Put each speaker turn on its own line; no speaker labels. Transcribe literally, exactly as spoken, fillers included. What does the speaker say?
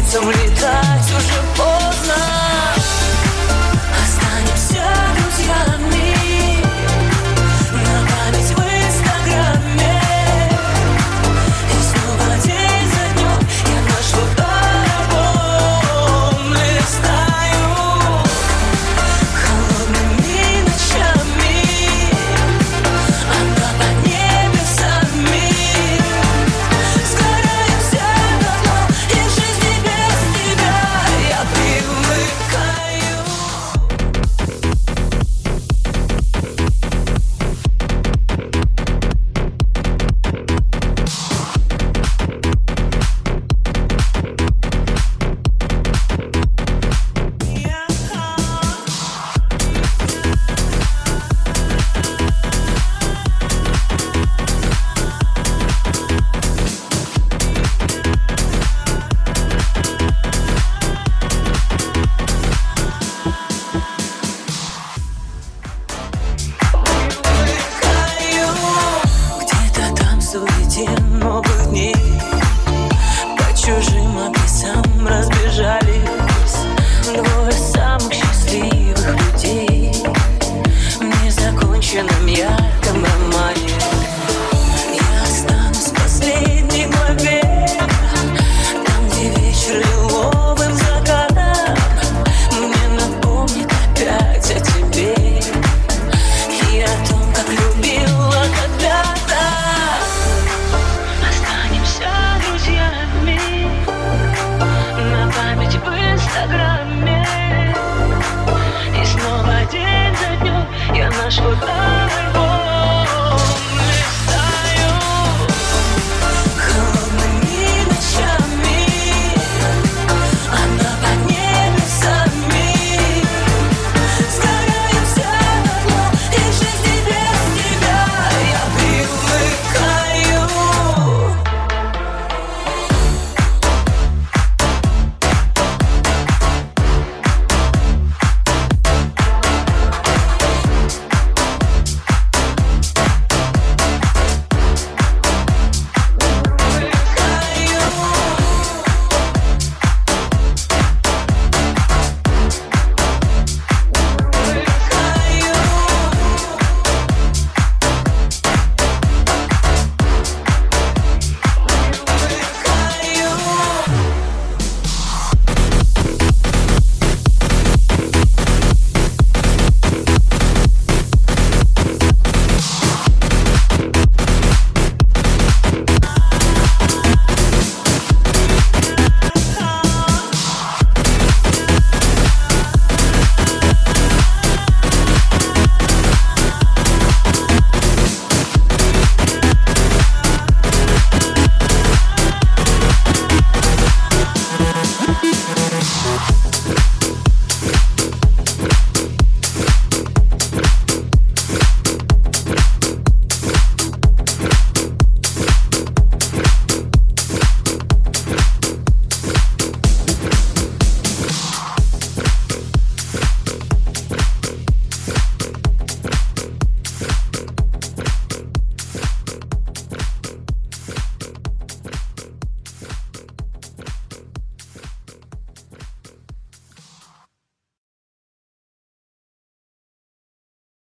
птицам летать уже поздно. Останемся друзьями на память в инстаграме. И снова день за днем я наш фотоальбом листаю холодными ночами. Она под небесами. Сгораю вся давно, и в жизни без тебя я привыкаю. Где-то там в суете новых дней по чужим адресам разбежались двое самых счастливых людей в незаконченном ярком романе. Я останусь в последней главе, там, где вечер лиловым закатом мне напомнит опять о тебе и о том, как любила когда-то. Останемся друзьями на память в инстаграме. И снова день за днем я наш фото